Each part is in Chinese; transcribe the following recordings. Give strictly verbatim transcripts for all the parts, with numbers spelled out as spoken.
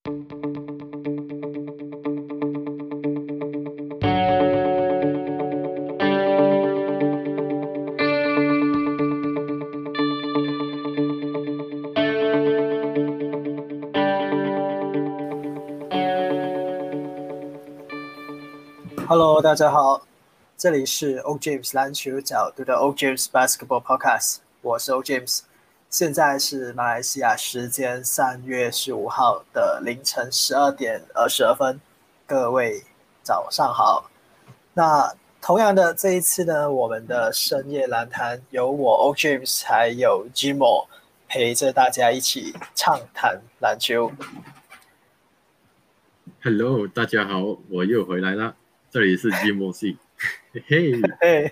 Hello，大家好，这里是 O James 篮球角度的 O James Basketball Podcast， 我是 O James， 现在是马来西亚时间三月十五号的凌晨十二点二十二分，各位早上好。那同样的这一次呢，我们的深夜篮坛由我 O James 还有 Jimo 陪着大家一起畅谈篮球。 Hello， 大家好，我又回来了。这里是 Jimo C， 嘿嘿。 嘿，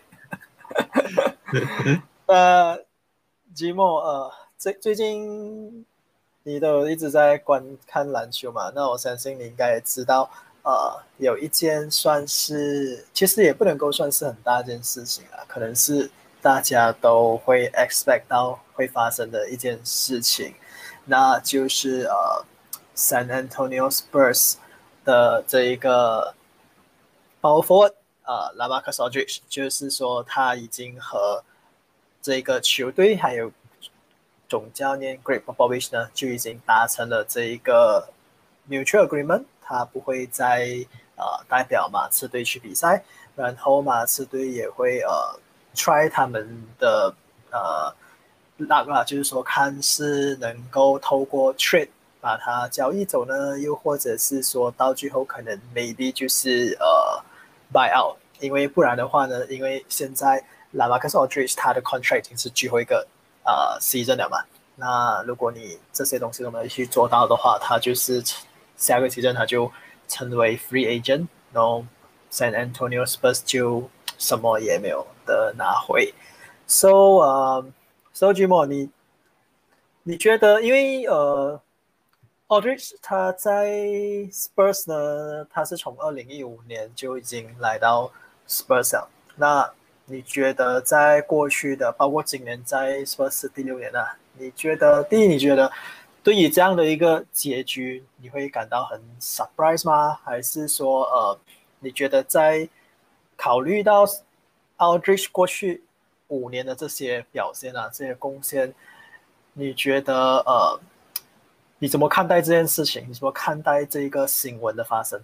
呃，Jimo，呃，最最近你都一直在观看篮球嘛？那我相信你应该也知道，呃，有一件算是，其实也不能够算是很大件事情啊，可能是大家都会 expect 到会发生的一件事情，那就是呃，San Antonio Spurs 的这一个 power forward。呃 LaMarcus Aldridge， 就是说他已经和这个球队还有总教练 Greg Popovich 呢就已经达成了这一个 mutual agreement， 他不会再呃代表马刺队去比赛，然后马刺队也会呃 try 他们的呃 luck 啦，就是说看是能够透过 trade 把它交易走呢，又或者是说到最后可能 maybe 就是呃buy out， 因为不然的话呢，因为现在 LaMarcus Aldridge 他的 contract 已经是最后一个呃 season 了嘛，那如果你这些东西都没有去做到的话，他就是下个 season 他就成为 free agent， 然后 San Antonio Spurs 就什么也没有的拿回。So， 呃、uh, So Jimo， 你你觉得，因为呃 Aldridge 他在 Spurs 呢，他是从二零一五年就已经来到 Spurs 了。那你觉得在过去的，包括今年在 Spurs 第六年啊，你觉得第一，你觉得对于这样的一个结局，你会感到很 surprise 吗？还是说，呃，你觉得在考虑到 Aldridge 过去五年的这些表现啊，这些贡献，你觉得呃？你怎么看待这件事情？你怎么看待这个新闻的发生？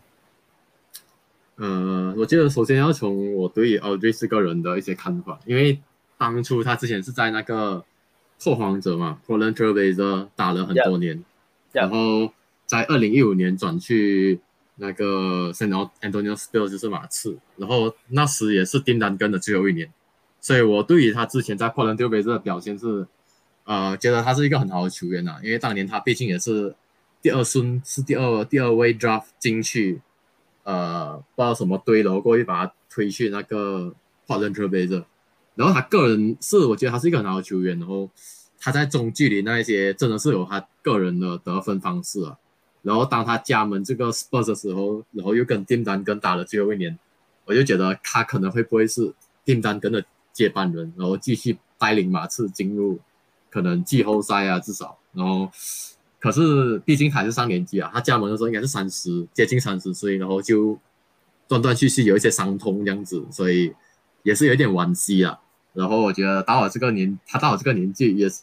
呃，我觉得首先要从我对于 Aldridge 这个人的一些看法，因为当初他之前是在那个拓荒者嘛 ，Portland Trail Blazers 打了很多年， yeah, 然后在二零一五年转去那个 San Antonio Spurs 就是马刺，然后那时也是丁丹根的最后一年，所以我对于他之前在 Portland Trail Blazers 的表现是。呃，觉得他是一个很好的球员啊，因为当年他毕竟也是第二顺，是第二第二位 draft 进去，呃，不知道什么队，然后过去把他推去那个 Portland Trail Blazers，然后他个人是我觉得他是一个很好的球员，然后他在中距离那一些真的是有他个人的得分方式啊，然后当他加盟这个 Spurs 的时候，然后又跟丁丹根打了最后一年，我就觉得他可能会不会是丁丹根的接班人，然后继续带领马刺进入。可能季后赛啊，至少，然后，可是毕竟还是上年纪啊，他加盟的时候应该是三十，接近三十岁，然后就断断续续有一些伤痛这样子，所以也是有点惋惜啊。然后我觉得到了这个年，他到了这个年纪也是，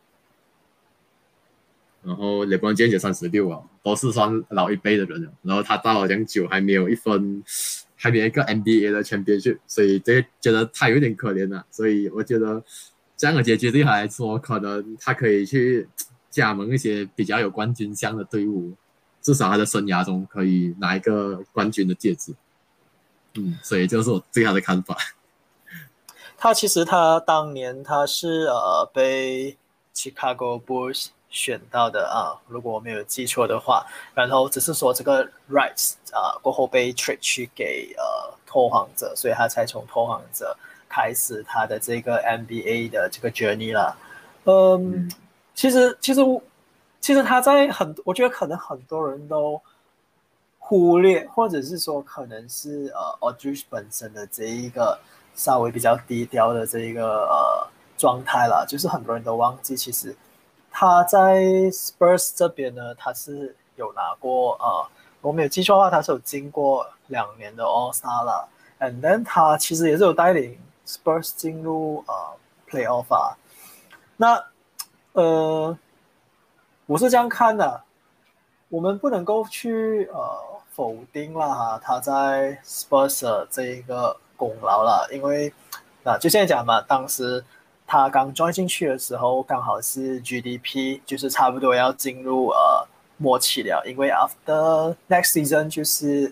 然后lebron james也三十六啊，都是算老一辈的人了。然后他到了这样久还没有一分，还没有一个 N B A 的 championship， 所以这觉得他有点可怜啊。所以我觉得。这样的结局对他来说，可能他可以去加盟一些比较有冠军相的队伍，至少他的生涯中可以拿一个冠军的戒指。嗯，所以这是我对他的看法。 他其实他当年他是呃被 Chicago Bulls 选到的啊，如果我没有记错的话，然后只是说这个 rights 啊过后被 trade 去给呃拓荒者，所以他才从拓荒者。开始他的这个 N B A 的这个 journey 了，嗯，嗯其实其实其实他在很，我觉得可能很多人都忽略，或者是说可能是呃 Aldridge 本身的这一个稍微比较低调的这一个呃状态啦，就是很多人都忘记，其实他在 Spurs 这边呢，他是有拿过呃，我没有记错的话，他是有经过两年的 All Star 啦。And then 他其实也是有带领 Spurs 进入呃 Playoff 啊。那呃，我是这样看的，我们不能够去呃否定了哈他在 Spurs 的这一个功劳了，因为那就现在讲嘛，当时他刚 join 进去的时候，刚好是 G D P 就是差不多要进入呃末期了，因为 after next season 就是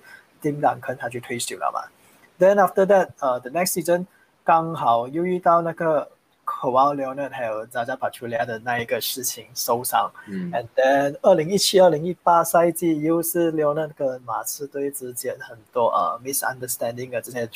Tim Duncan 他就退休了嘛。Then after that 呃 the next season 刚好又遇到那个 Kawhi Leonard 还有 Zaza Pachulia 的那一个事情受伤， 嗯 ，and then 二零一七、二零一八赛季又是 Leonard 跟马刺队之间很多呃 misunderstanding 的这些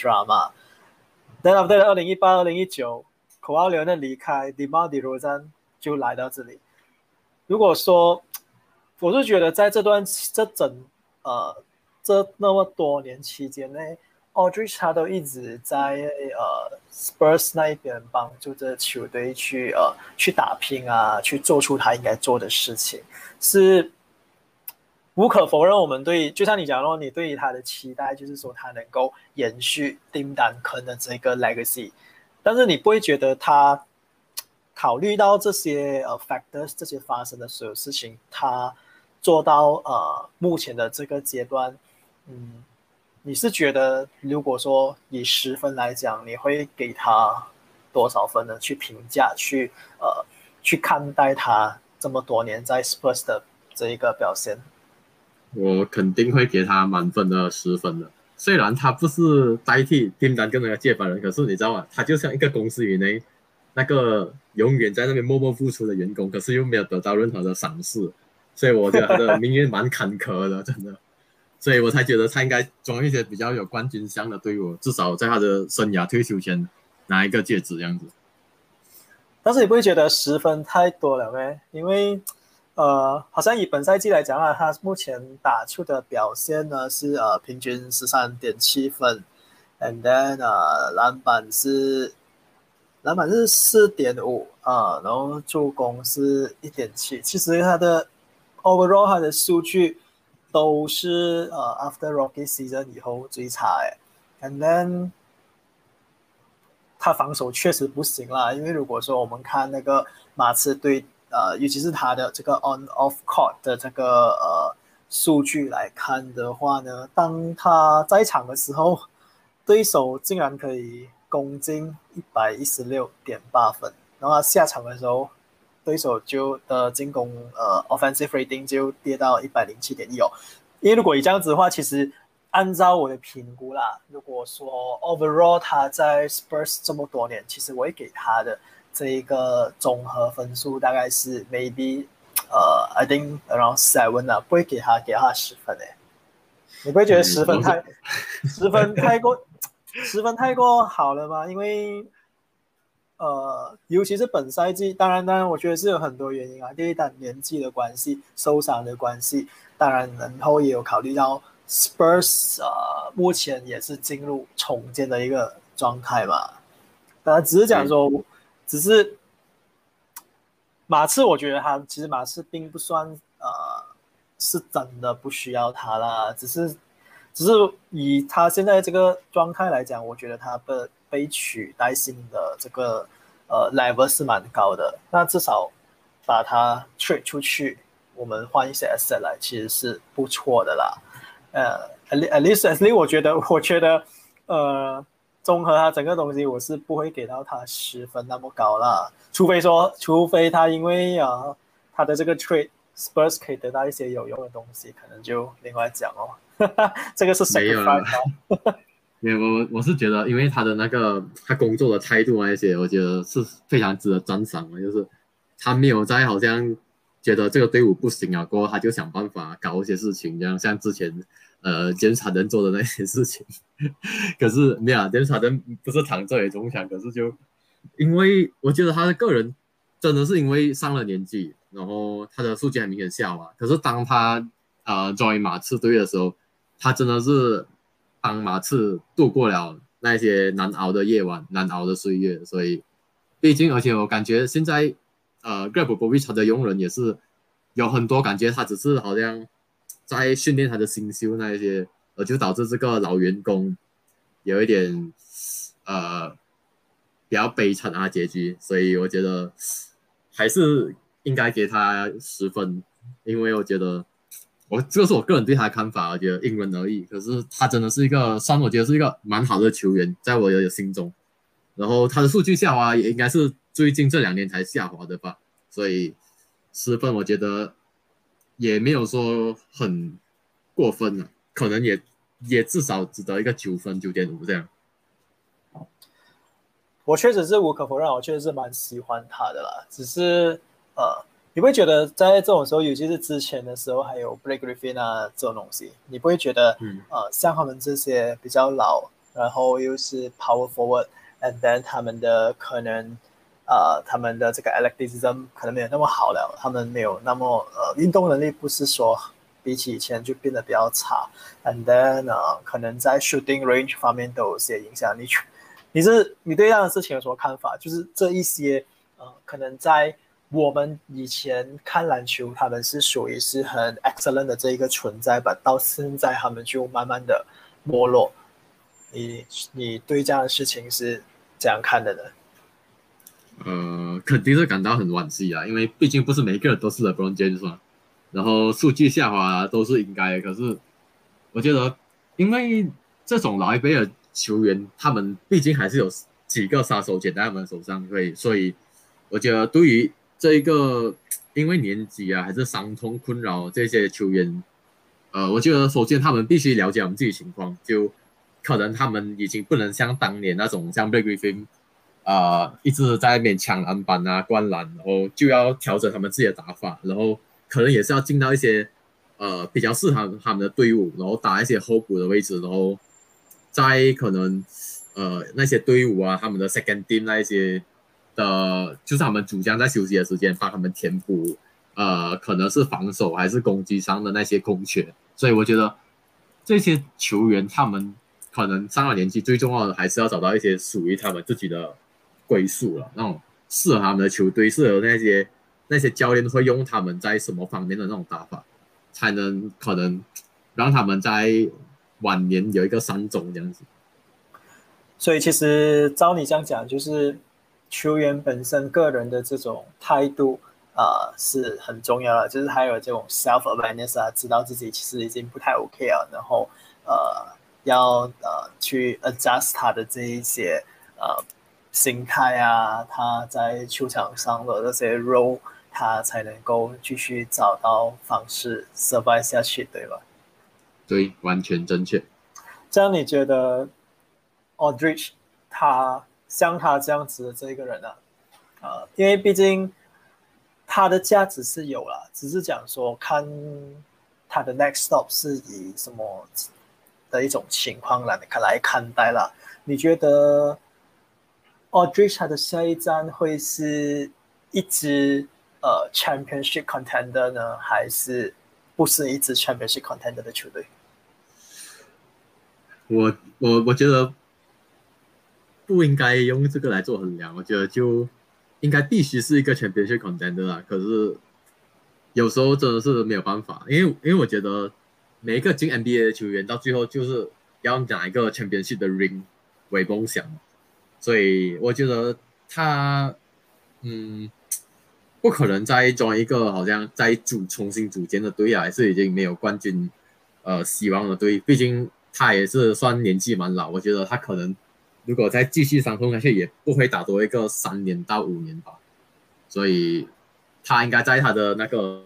drama。Then after 二零一八、二零一九 Kawhi Leonard 离开 ，DeMar DeRozan 就来到这里。如果说，我是觉得在这段这整呃这那么多年期间内，Aldridge 他都一直在呃 Spurs 那一边帮助着球队去呃去打拼啊，去做出他应该做的事情，是无可否认。我们对就像你讲咯，你对于他的期待就是说他能够延续 Tim Duncan 的这个 legacy， 但是你不会觉得他考虑到这些呃 factors 这些发生的所有事情，他做到呃目前的这个阶段，嗯。你是觉得，如果说以十分来讲，你会给他多少分呢？去评价，去呃，去看待他这么多年在 Spurs 的这一个表现？ 我肯定会给他满分的十分的。虽然他不是代替订单跟那个接班人，可是你知道吗？他就像一个公司以内那个永远在那边默默付出的员工，可是又没有得到任何的赏识，所以我觉得他的命运蛮坎坷的，真的。所以我才觉得他应该装一些比较有冠军相的队伍，至少在他的生涯退休前拿一个戒指这样子。 但是你不会觉得十分太多了咩？因为呃，好像以本赛季来讲啊，他目前打出的表现呢是呃平均十三点七分 ，and then 呃篮板是篮板是四点五啊，然后助攻是一点七。其实他的 overall 他的数据都是呃 after Rocky season 以后最差诶 ，and then 他防守确实不行啦，因为如果说我们看那个马刺队，呃，尤其是他的这个 on off court 的这个呃数据来看的话呢，当他在场的时候，对手竟然可以攻进一百一十六点八分，然后他下场的时候，对手就的进攻呃 offensive rating 就跌到一百零七点一哦。因为如果以这样子的话，其实按照我的评估啦，如果说 overall 他在 Spurs 这么多年，其实我会给他的这一个综合分数大概是 maybe 呃 I think around seven 啊，不会给他给他十分诶。你不会觉得十分太十分太过十分太过好了吗？因为呃，尤其是本赛季，当然，当然，我觉得是有很多原因啊。第一，当然年纪的关系、受伤的关系，当然，然后也有考虑到 Spurs 呃，目前也是进入重建的一个状态嘛。当然，只是讲说，嗯、只是马刺，我觉得他其实马刺并不算呃是真的不需要他啦，只是只是以他现在这个状态来讲，我觉得他的被取代性的这个呃 level 是蛮高的。那至少把它 trade 出去，我们换一些 asset 来，其实是不错的啦。呃 at least at least 我觉得我觉得呃综合它整个东西，我是不会给到它十分那么高啦。除非说，除非他因为啊他的这个 trade Spurs 可以得到一些有用的东西，可能就另外讲哦。这个是 sacrifice 吗？没有，我我是觉得，因为他的那个他工作的态度那些，我觉得是非常值得赞赏的。就是他没有在好像觉得这个队伍不行啊，过后他就想办法搞一些事情，这样像之前呃杰姆斯哈登做的那些事情。可是没有、啊，杰姆斯哈登不是躺着也中枪，可是就因为我觉得他的个人真的是因为上了年纪，然后他的数据很明显下滑。可是当他呃 join 马刺队的时候，他真的是帮马刺度过了那些难熬的夜晚、难熬的岁月，所以毕竟，而且我感觉现在呃 Greg Popovich 他的用人也是有很多感觉，他只是好像在训练他的新秀那一些，而就导致这个老员工有一点呃比较悲惨的结局，所以我觉得还是应该给他十分，因为我觉得我这个是我个人对他的看法，我觉得因人而异。可是他真的是一个，算我觉得是一个蛮好的球员，在我的心中。然后他的数据下滑也应该是最近这两年才下滑的吧，所以十分我觉得也没有说很过分了，可能也也至少值得一个九分九点五这样。 我确实是无可否认，我确实是蛮喜欢他的啦。只是呃，你不会觉得在这种时候，尤其是之前的时候，还有 Blake Griffin 啊这种东西，你不会觉得、嗯、呃，像他们这些比较老，然后又是 power forward，and then 他们的可能呃，他们的这个 athleticism 可能没有那么好了，他们没有那么呃运动能力，不是说比起以前就变得比较差，and then 呃，可能在 shooting range 方面都有些影响。你你是你对这样的事情有什么看法？就是这一些呃，可能在我们以前看篮球，他们是属于是很 excellent 的这一个存在吧，到现在他们就慢慢的没落。你你对这样的事情是怎样看的呢？ 呃，肯定是感到很惋惜啊，因为毕竟不是每一个人都是 LeBron James 嘛，然后数据下滑都是应该的。可是我觉得，因为这种老一辈的球员，他们毕竟还是有几个杀手锏在他们手上，所以所以我觉得对于这一个因为年纪啊还是伤痛困扰这些球员，呃，我觉得首先他们必须了解我们自己情况，就可能他们已经不能像当年那种像 Blake Griffin。呃，一直在那边抢篮板啊、灌篮，然后就要调整他们自己的打法，然后可能也是要进到一些呃比较适合他们的队伍，然后打一些候补的位置，然后在可能呃那些队伍啊，他们的 second team 那一些的，就是他们主将在休息的时间帮他们填补呃可能是防守还是攻击上的那些空缺，所以我觉得这些球员他们可能上了年纪，最重要的还是要找到一些属于他们自己的归宿了，那种适合他们的球队，适合那些那些教练会用他们在什么方面的那种打法，才能可能让他们在晚年有一个三种这样子。 所以其实照你这样讲，就是球员本身个人的这种态度啊、呃、是很重要的，就是还有这种 self awareness 啊，知道自己其实已经不太 OK 了，然后呃要呃去 adjust 他的这一些呃心态啊，他在球场上的这些 role， 他才能够继续找到方式 survive 下去，对吧？ 对，完全正确。 这样你觉得 Aldridge 他像他这样子的这一个人啊，呃，因为毕竟他的价值是有了，只是讲说看他的 next stop 是以什么的一种情况来来看待了。你觉得 Aldridge 他的下一站会是一支呃 championship contender 呢，还是不是一支 championship contender 的球队？ 我我我觉得不应该用这个来做衡量，我觉得就应该必须是一个 championship contender 啦。可是有时候真的是没有办法，因为因为我觉得每一个进 N B A 的球员到最后就是要拿一个 championship 的 ring 为梦想，所以我觉得他嗯不可能再装一个好像再组重新组建的队啊，还是已经没有冠军呃希望的队，毕竟他也是算年纪蛮老，我觉得他可能如果再继续伤痛下去，也不会打多一个三年到五年吧，所以他应该在他的那个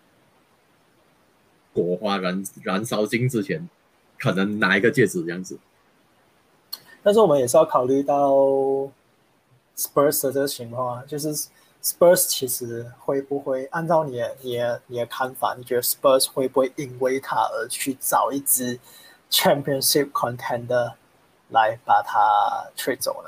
火花燃燃烧尽之前，可能拿一个戒指这样子。 但是我们也是要考虑到 Spurs 的这个情况啊，就是 Spurs 其实会不会按照你的你的你的看法，你觉得 Spurs 会不会因为他而去找一支 Championship contender 来把他 trade 走呢？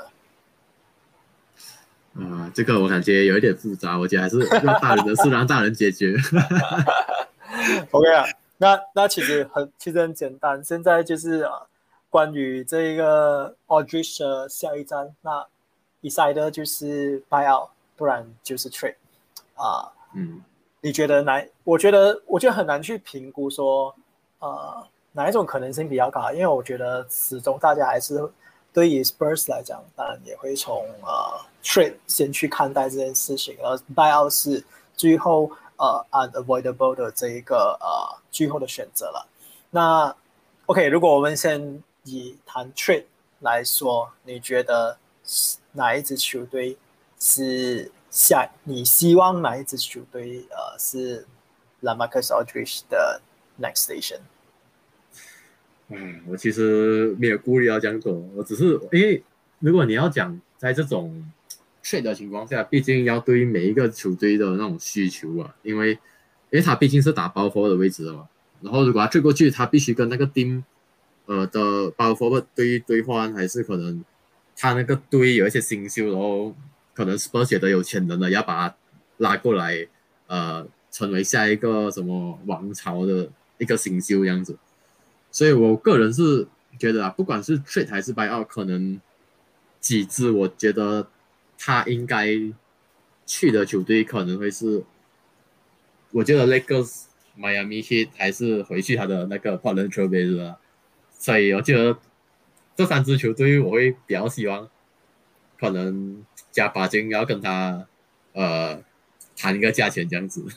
啊、呃，这个我感觉有一点复杂，我觉得还是让大人的事让大人解决。 OK 啊，那那其实很其实很简单，现在就是啊，关于这个 Aldridge 的下一站，那 decider 就是 buy out， 不然就是 trade 啊。嗯，你觉得难？我觉得我觉得很难去评估说呃哪一种可能性比较高？因为我觉得始终大家还是对于 Spurs 来讲，当然也会从呃 trade 先去看待这件事情，而 buyout 是最后呃 unavoidable 的这一个呃最后的选择了。那 OK， 如果我们先以谈 trade 来说，你觉得哪一支球队是下？你希望哪一支球队呃是 LaMarcus Aldridge 的 next station？ 嗯，我其实没有顾虑要这样做，我只是因为如果你要讲在这种 trade 的情况下，毕竟要对每一个球队的那种需求啊，因为因为他毕竟是打包 forward 的位置的嘛，然后如果他 trade 过去，他必须跟那个 team 呃的包 forward 对兑换，还是可能他那个队有一些新秀，然后可能 Spurs 觉得有潜能的，要把他拉过来，呃，成为下一个什么王朝的一个新秀这样子。所以我个人是觉得啊，不管是 trade 还是 buyout，可能几支我觉得他应该去的球队可能会是，我觉得 Lakers、Miami Heat 还是回去他的那个 Portland Trail Blazers，所以我觉得这三支球队我会比较希望可能加把劲要跟他呃谈一个价钱这样子。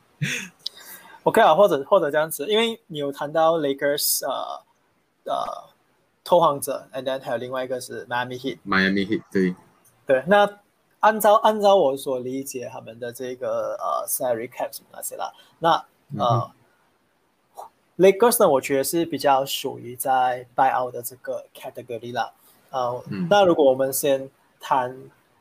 OK 啊，或者或者这样子，因为你有谈到 Lakers 呃呃拓荒者，and then 还有另外一个是 Miami Heat。 Miami Heat 对， 对，那按照按照我所理解他们的这个呃 salary cap 什么那些啦，那嗯哼， 呃 Lakers 呢，我觉得是比较属于在 buyout 的这个 category 啦。呃， 嗯那如果我们先谈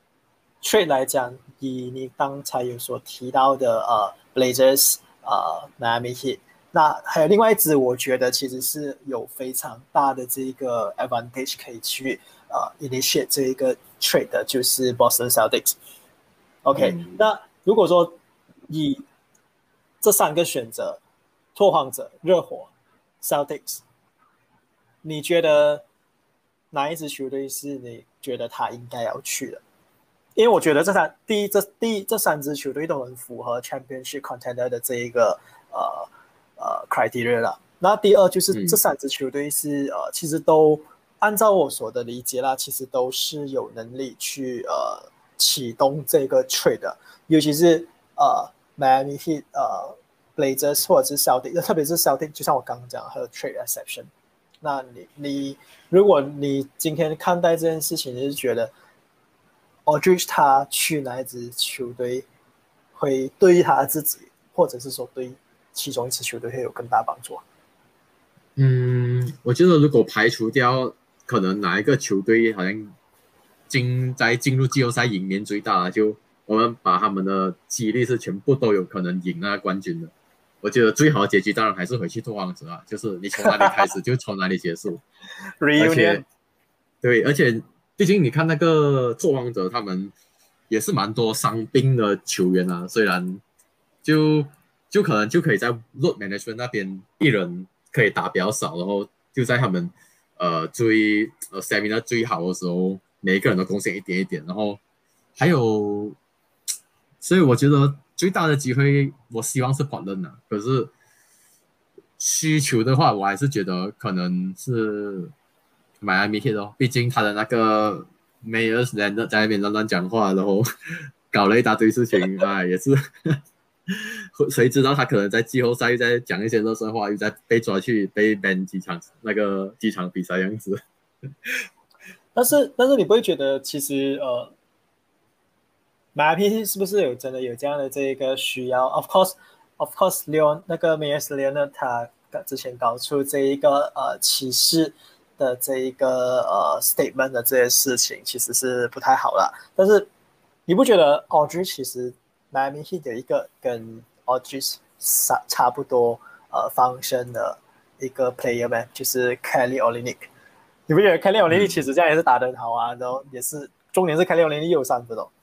trade 来讲，以你刚才有所提到的呃 Blazers 呃 Miami Heat，那还有另外一支，我觉得其实是有非常大的这个 advantage 可以去呃 initiate 这一个 trade 的，就是 Boston Celtics。OK， 嗯。 那如果说以这三个选择，拓荒者、热火、Celtics，你觉得哪一支球队是你觉得他应该要去的？因为我觉得这三第一这第一这三支球队都很符合 Championship Contender 的这一个呃呃 criteria 了。那第二就是这嗯三支球队是呃其实都按照我所的理解啦，其实都是有能力去呃启动这个 trade 的，尤其是呃 Miami Heat 呃 Blazers 或者是 Celtic， 特别是 Celtic， 就像我刚刚讲还有 trade exception。那你你如果你今天看待这件事情，你是觉得 Aldridge 他去哪一支球队会对于他自己，或者是说对其中一支球队会有更大帮助？ 嗯，我觉得如果排除掉可能哪一个球队好像进在进入季后赛赢面最大的，就我们把他们的几率是全部都有可能赢那个冠军的。我觉得最好的结局当然还是回去拓荒者啊，就是你从哪里开始就从哪里结束。而 Reunion。 且对，而且毕竟你看那个拓荒者，他们也是蛮多伤病的球员啊，虽然就就可能就可以在 load management 那边一人可以打比较少，然后就在他们呃最呃 stamina 最好的时候，每一个人都贡献一点一点，然后还有，所以我觉得最大的机会，我希望是 Portland 啊，可是需求的话，我还是觉得可能是 Miami Heat 哦，毕竟他的那个 Mayors Leonard 在那边乱乱讲话，然后搞了一大堆事情啊，也是谁知道他可能在季后赛又在讲一些热身话，又在被抓去被 ban 几场那个几场比赛样子。 但是但是你不会觉得其实呃马 P 是不是有真的有这样的这个需要 ？Of course, of course, Leon 那个 Mayers Leonard 他之前搞出这一个呃歧视的这一个呃 statement 的这些事情，其实是不太好啦。但是你不觉得 Audrey 其实 Miami Heat 有一个跟 Audrey 差差不多呃 function 的一个 player 吗？就是 Kelly Olynyk。你不觉得 Kelly Olynyk 其嗯， 实这样也是打得很好啊？然后也是重点是 Kelly Olynyk 又有三分哦。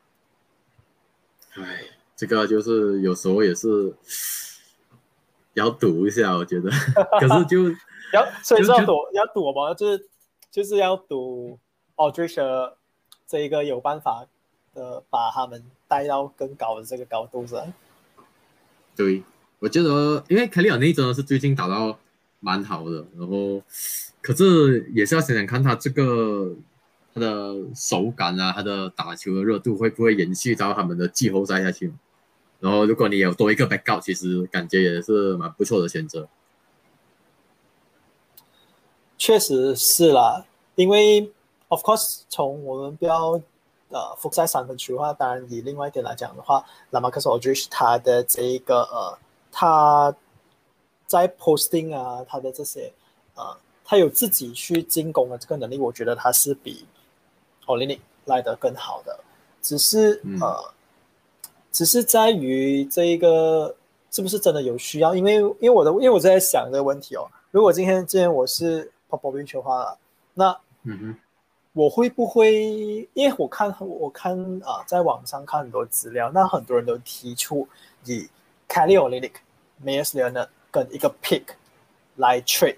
唉，这个就是有时候也是要赌一下，我觉得。可是就要所以就就是要赌要赌嘛，就是就是要赌 Aldridge 这一个有办法的把他们带到更高的这个高度上。 对， 我觉得，因为凯利尔内真的是最近打到蛮好的，然后可是也是要想想看他这个他的手感啊，他的打球的热度会不会延续到他们的季后赛下去。然后如果你有多一个 backup，其实感觉也是蛮不错的选择。 确实是啦，因为 of course 从我们不要呃复赛三分球的话，当然以另外一点来讲的话，拉马克斯·奥德什他的这一个呃他在 posting 啊，他的这些呃他有自己去进攻的这个能力，我觉得他是比 Olynyk 来得更好的，只是嗯呃只是在于这一个是不是真的有需要，因为因为我的因为我在想这个问题哦，如果今天今天我是 Popovich 的话，那嗯哼我会不会？因为我看我看啊、呃，在网上看很多资料，那很多人都提出以 Kelly Olynyk、Meyers Leonard 跟一个 pick 来 trade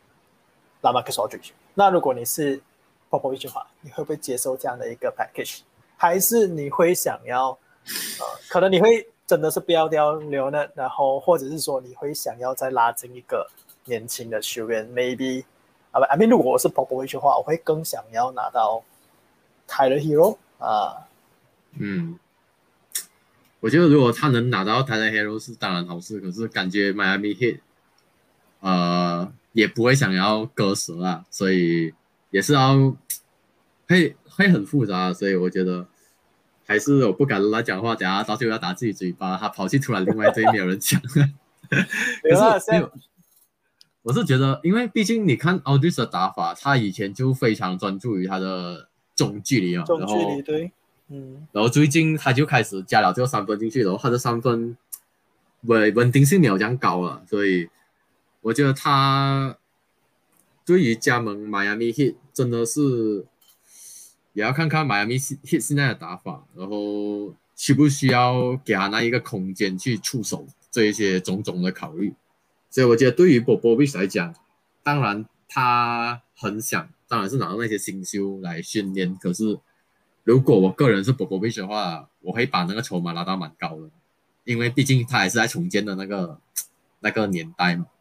LaMarcus Aldridge。那如果你是 Popovich 的话，你会不会接受这样的一个 package？还是你会想要呃，可能你会真的是不要掉 Leonard，然后或者是说你会想要再拉进一个年轻的球员 ，maybe。啊，I mean，如果我是 Popovich 的话，我会更想要拿到 Tyler Hero 啊。 嗯，我觉得如果他能拿到 Tyler Hero 是当然好事，可是感觉 Miami Heat 呃也不会想要割舍啊，所以也是要会会很复杂，所以我觉得还是我不敢跟他讲话，等下到最后要打自己嘴巴，他跑去突然另外一队没有人讲。可没有啦，现在是没有，我是觉得，因为毕竟你看 Aldridge 的打法，他以前就非常专注于他的中距离嘛， 中距离然后对，嗯， 然后最近他就开始加了这个三分进去，然后他的三分稳稳定性没有这样高了，所以我觉得他对于加盟 Miami Heat 真的是也要看看 Miami Heat 现在的打法，然后需不需要给他那一个空间去出手这一些种种的考虑。所以我觉得对于 Popovich 来讲，当然他很想，当然是拿到那些新秀来训练。可是如果我个人是 Popovich 的话，我会把那个筹码拉到蛮高的，因为毕竟他还是在重建的那个那个年代嘛。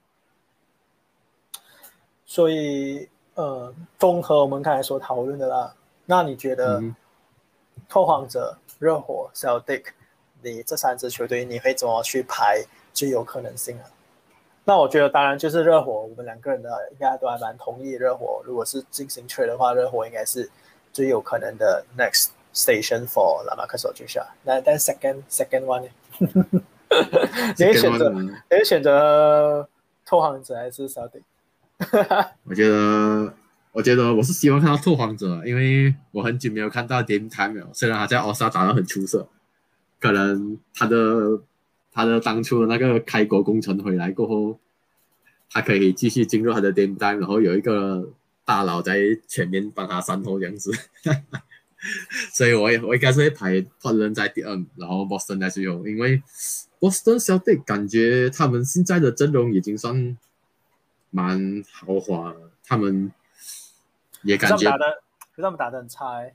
所以呃，综合我们刚才所讨论的啦，那你觉得嗯， 拓荒者、热火、Celtic，你这三支球队你会怎么去排最有可能性啊？那我觉得当然就是热火，我们两个人的应该都还蛮同意热火。如果是进行 trade 的话，热火应该是最有可能的 next station for 拉马克索去下。那但 second second one 呢？你会这跟选择我你会选择拓荒者还是 Celtic？ 我觉得，我觉得我是希望看到拓荒者，因为我很久没有看到 Dame Time 了。虽然他在奥沙打得很出色，可能他的他的当初的那个开国功臣回来过后，他可以继续进入他的 Dame Time，然后有一个大佬在前面帮他善后这样子。所以我也我应该是会排 Portland 在第二，然后 Boston 在最后，因为 Boston Celtic 感觉他们现在的阵容已经算蛮豪华了，他们也可是他感觉， 们打的，可是他们打的很差哎。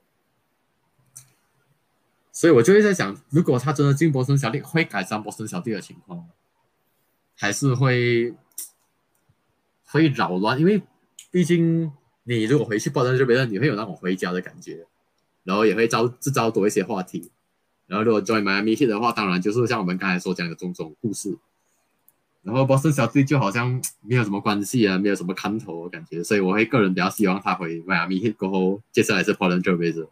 所以我就会在想，如果他真的进波士顿小弟，会改善波士顿小弟的情况吗？还是会会扰乱？因为毕竟你如果回去波士顿这边，你会有那种回家的感觉，然后也会造制造多一些话题。然后如果 join Miami Heat 的话，当然就是像我们刚才所讲的种种故事。然后波士顿小队就好像没有什么关系啊，没有什么看头的感觉，所以我会个人比较希望他回迈阿密 Heat 过后，接下来是 Portland Trailblazers。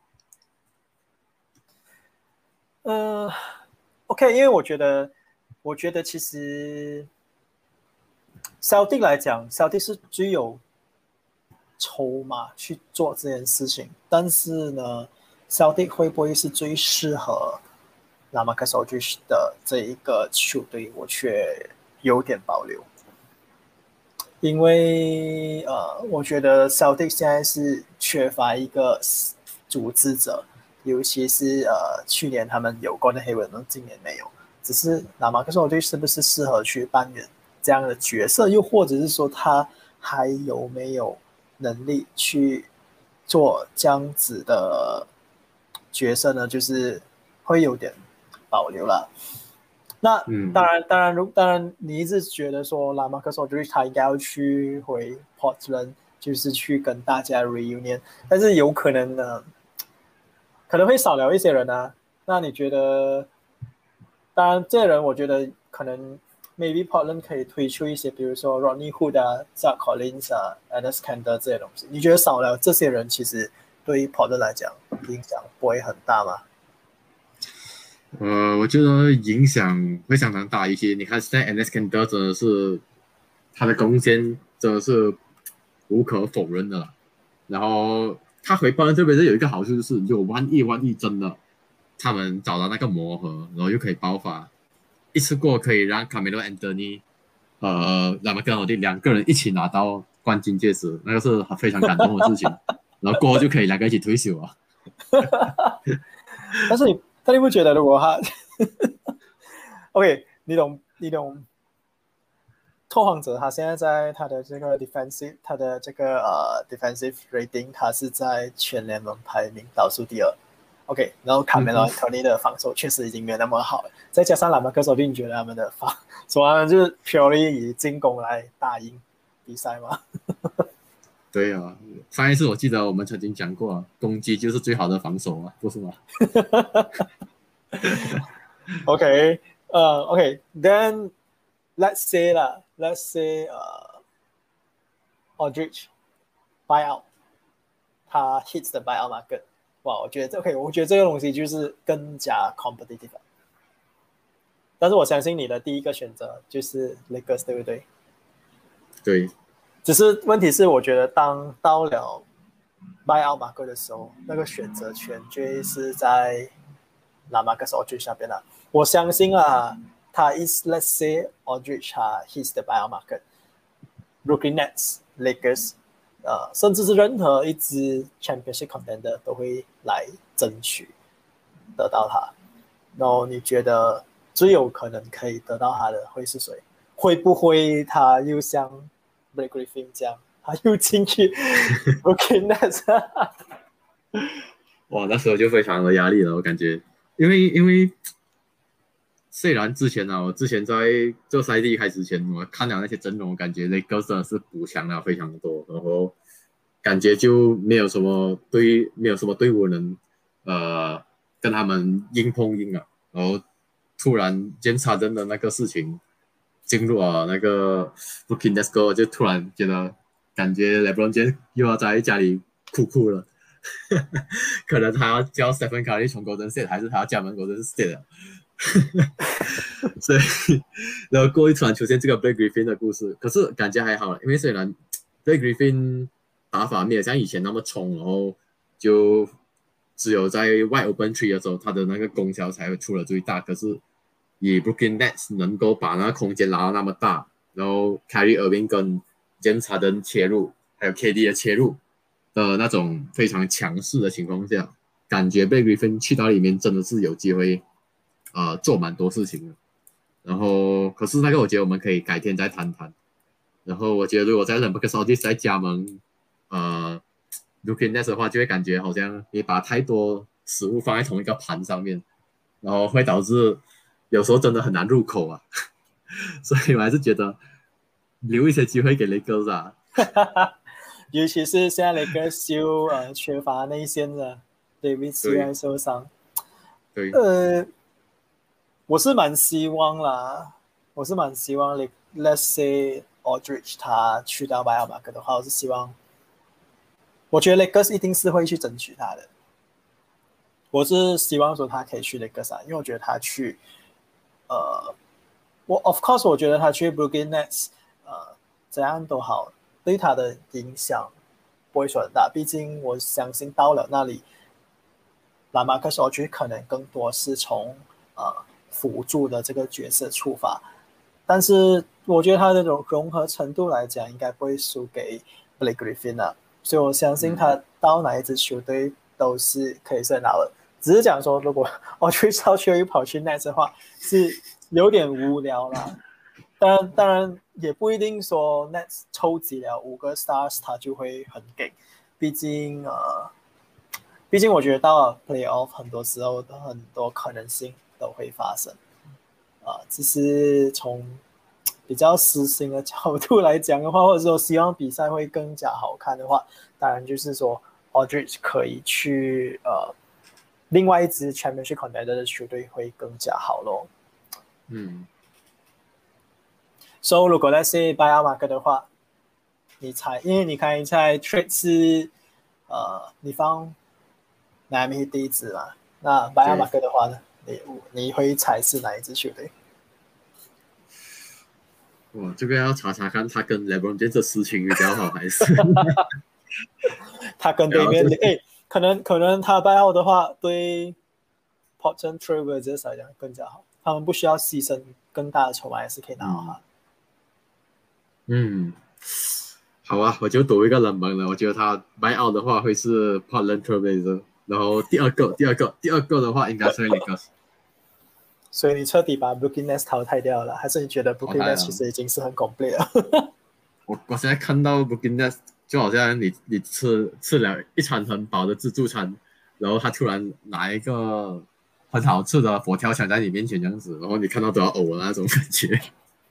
呃，OK，因为我觉得，我觉得其实 Celtic 来讲，Celtic 是最有筹码去做这件事情，但是呢，Celtic 会不会是最适合拉马克斯 Aldridge 的这一个球队，我却有点保留，因为呃，我觉得 Celtic 现在是缺乏一个组织者，尤其是呃去年他们有 Gordon Hayward，今年没有，只是拉马克斯 Aldridge 是不是适合去扮演这样的角色，又或者是说他还有没有能力去做这样子的角色呢？就是会有点保留了。 那嗯， 当然，当然，如当然，你一直觉得说拉马克索就是他应该要去回 Portland，就是去跟大家 reunion，但是有可能呢，可能会少聊一些人啊。那你觉得？当然，这些人我觉得可能 maybe Portland 可以推出一些，比如说 Rodney Hood 啊、Zach Collins 啊、Enes Kanter 这些东西。你觉得少了这些人，其实对于 Portland 来讲影响不会很大吗？ 呃，我觉得影响会相当大一些。你看现在 N S Kanter 真的是他的贡献真的是无可否认的了。然后他回报这边是有一个好处，就是有万一万一真的他们找到那个磨合，然后又可以爆发，一次过可以让 Carmelo Anthony 呃，那么跟我的两个人一起拿到冠军戒指，那个是非常感动的事情。然后过后就可以两个一起退休啊。 但是你，但你不觉得如果他，OK，你懂，你懂，拓荒者他现在在他的这个 defensive，他的这个呃 defensive rating，他是在全联盟排名倒数第二。OK，然后卡梅隆 Anthony 的防守确实已经没有那么好了，再加上拉马克手令觉得他们的防，所以他们就是 purely 以进攻来打赢比赛嘛。 对啊，上一次我记得我们曾经讲过啊，攻击就是最好的防守啊，不是吗？ OK，呃、uh,，OK，then、okay, let's say 啦，let's say 呃、uh,，Aldridge buyout，他 hits the buyout market， 哇，我觉得 OK， 我觉得这个东西就是更加 competitive。但是我相信你的第一个选择就是 Lakers， 对不对？ 对， 只是问题是，我觉得当到了 buyout market 的时候，那个选择权就是在拉马克斯 Aldridge 那边了。我相信啊，他 is let's say Aldridge 他 hits the buyout market，Brooklyn Nets、Lakers， 呃，甚至是任何一支 championship contender 都会来争取得到他。然后你觉得最有可能可以得到他的会是谁？会不会他又像 Blake Griffin 这样，他又进去 Brooklyn Nets？ 哇，那时候就非常的压力了，我感觉，因为因为虽然之前啊，我之前在这赛季开始前，我看了那些阵容，我感觉 Lakers 真的是补强了非常多，然后感觉就没有什么队，没有什么队伍能呃跟他们硬碰硬啊，然后突然监察人的那个事情进入了那个 Brooklyn Nets， 就突然觉得感觉 LeBron James 又要在家里哭哭了。可能他要叫 Stephen Curry 从 Golden State， 还是他要加盟 Golden State 了。所以，然后过一突然出现这个 Blake Griffin 的故事，可是感觉还好，因为虽然 Blake Griffin 打法没有像以前那么冲，然后就只有在 wide open three 的时候，他的那个功效才会出了最大。可是以 Brooklyn Nets 能够把那个空间拉到那么大，然后 Kyrie Irving 跟 James Harden 切入，还有 K D 的切入的那种非常强势的情况下，感觉 Blake Griffin 去到里面真的是有机会。呃，做蛮多事情的，然后可是那个我觉得我们可以改天再谈谈。然后我觉得如果在 Lambertus Aldridge 再加盟呃 Brooklyn Nets 的话，就会感觉好像你把太多食物放在同一个盘上面，然后会导致有时候真的很难入口啊。所以我还是觉得留一些机会给 Lakers 啊。 尤其是现在 Lakers 又呃缺乏内线的 David Stern 受伤， 对， 呃。我是蛮希望啦，我是蛮希望 ，Let's say Aldridge 他去到拜尔马克的话，我是希望，我觉得 Lakers 一定是会去争取他的。我是希望说他可以去 Lakers 啊，因为我觉得他去，呃，我 of course 我觉得他去 Brooklyn Nets， 呃，怎样都好，对他的影响不会说很大，毕竟我相信到了那里，拉马克斯 Aldridge 可能更多是从呃。辅助的这个角色出发，但是我觉得他的融合程度来讲，应该不会输给 Blake Griffin 啊，所以我相信他到哪一支球队都是可以胜好的。只是讲说，如果 Aldridge 去又跑去 Nets 的话，是有点无聊啦。当然，当然也不一定说 Nets 抽集了五个 stars 他就会很给，毕竟呃，毕竟我觉得到了 playoff 很多时候的很多可能性都会发生， 呃，只是从比较私心的角度来讲的话，或者说希望比赛会更加好看的话，当然就是说 Aldridge 可以去呃另外一支 Championship Contender 的球队会更加好咯。 嗯。 So 如果那是拜亚马克的话，你猜，因为你看一猜 trade 是呃你放 Miami 第一支嘛，那拜亚马克的话呢，你你会猜是哪一支球队？ 哇，这个要查查看他跟 LeBron James 的事情比较好，还是他跟对面诶，可能可能他拜奥的话，对 Portland Trail Blazers 来讲更加好，他们不需要牺牲更大的筹码，也是可以拿到他。 嗯，好啊，我就赌一个冷门了，我觉得他 buy out 的话会是 Portland Trail Blazers，然后第二个第二个第二个的话应该是 Lakers。 所以你彻底把 Brooklyn Nets 淘汰掉了，还是你觉得 Brooklyn Nets 其实已经是很 complete 了？ 我我现在看到 Brooklyn Nets 就好像你你吃吃了一餐很饱的自助餐，然后他突然拿一个很好吃的佛跳墙在你面前这样子，然后你看到都要呕的那种感觉。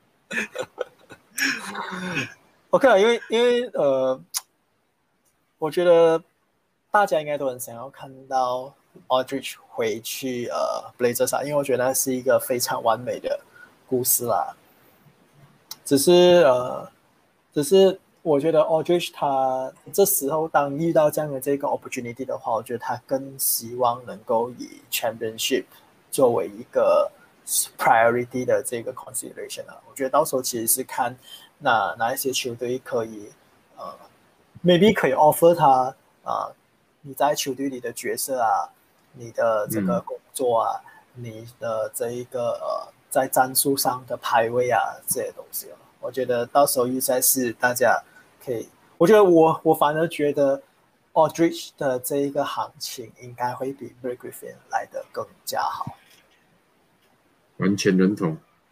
OK 了，因为因为呃，我觉得大家应该都很想要看到 Aldridge 回去呃 Blazers 啊，因为我觉得那是一个非常完美的故事啦。只是呃，只是我觉得 Aldridge 他这时候当遇到这样的这个 opportunity 的话，我觉得他更希望能够以 championship 作为一个 priority 的这个 consideration 啊。我觉得到时候其实是看哪哪一些球队可以呃 maybe 可以 offer 他啊、呃，你在球队里的角色啊，你的这个工作啊，嗯、你的这一个呃在战术上的排位啊这些东西、哦、我觉得到时候预赛是大家可以，我觉得我我反而觉得 Aldridge 的这一个行情应该会比 Blake Griffin 来的更加好。 完全认同。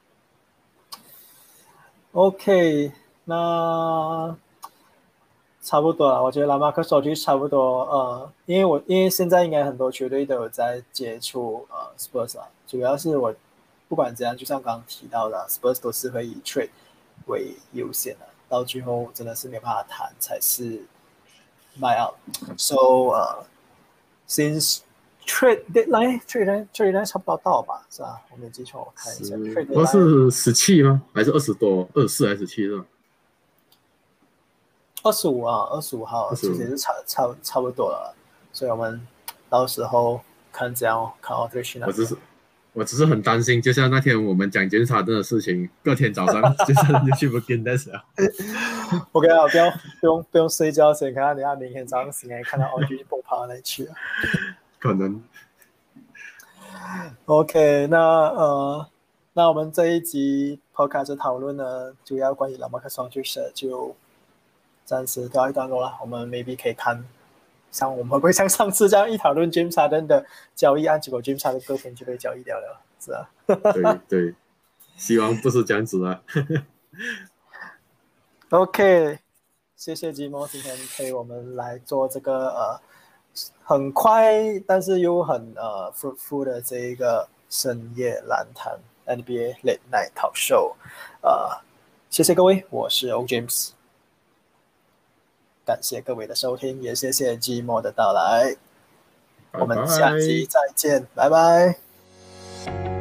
OK， 那差不多了，我觉得拉马克手机差不多，呃，因为我因为现在应该很多球队都有在接触呃 Spurs 啊，主要是我不管怎样，就像刚刚提到的 ，Spurs 都是会以 trade 为优先的，到最后真的是没办法谈才是 buy out。So 呃、uh, ，since trade deadline trade deadline trade deadline 差不多到吧，是吧？我没记错，我看一下 trade deadline 是十七吗？还是二十多？二十四还是十七是吧？ 二十五啊，二十五号其实是差差差不多了，所以我们到时候看怎样看 Aldridge 那边。 我只是我只是很担心，就像那天我们讲检查的事情，隔天早上就就去 Brooklyn Nets 了。 OK 啊，不要不用不用睡觉先看，等下明天早上醒来看到 Aldridge 蹦跑到哪去了。 可能。 OK， 那呃，那我们这一集 Podcast 讨论呢，主要关于 LaMarcus Aldridge 就暂时告一段落了。我们 maybe 可以看，像我们会不会像上次这样一讨论 James Harden 的交易案，结果 James Harden 隔天就被交易掉了，是啊。 对对，希望不是这样子啊。 OK， 谢谢吉莫今天陪我们来做这个呃很快但是又很呃 fruitful 的这一个深夜篮坛 N B A Late Night Talk Show， 呃，谢谢各位，我是 O James， 感谢各位的收听，也谢谢吉莫的到来， bye bye，我们下集再见，拜拜。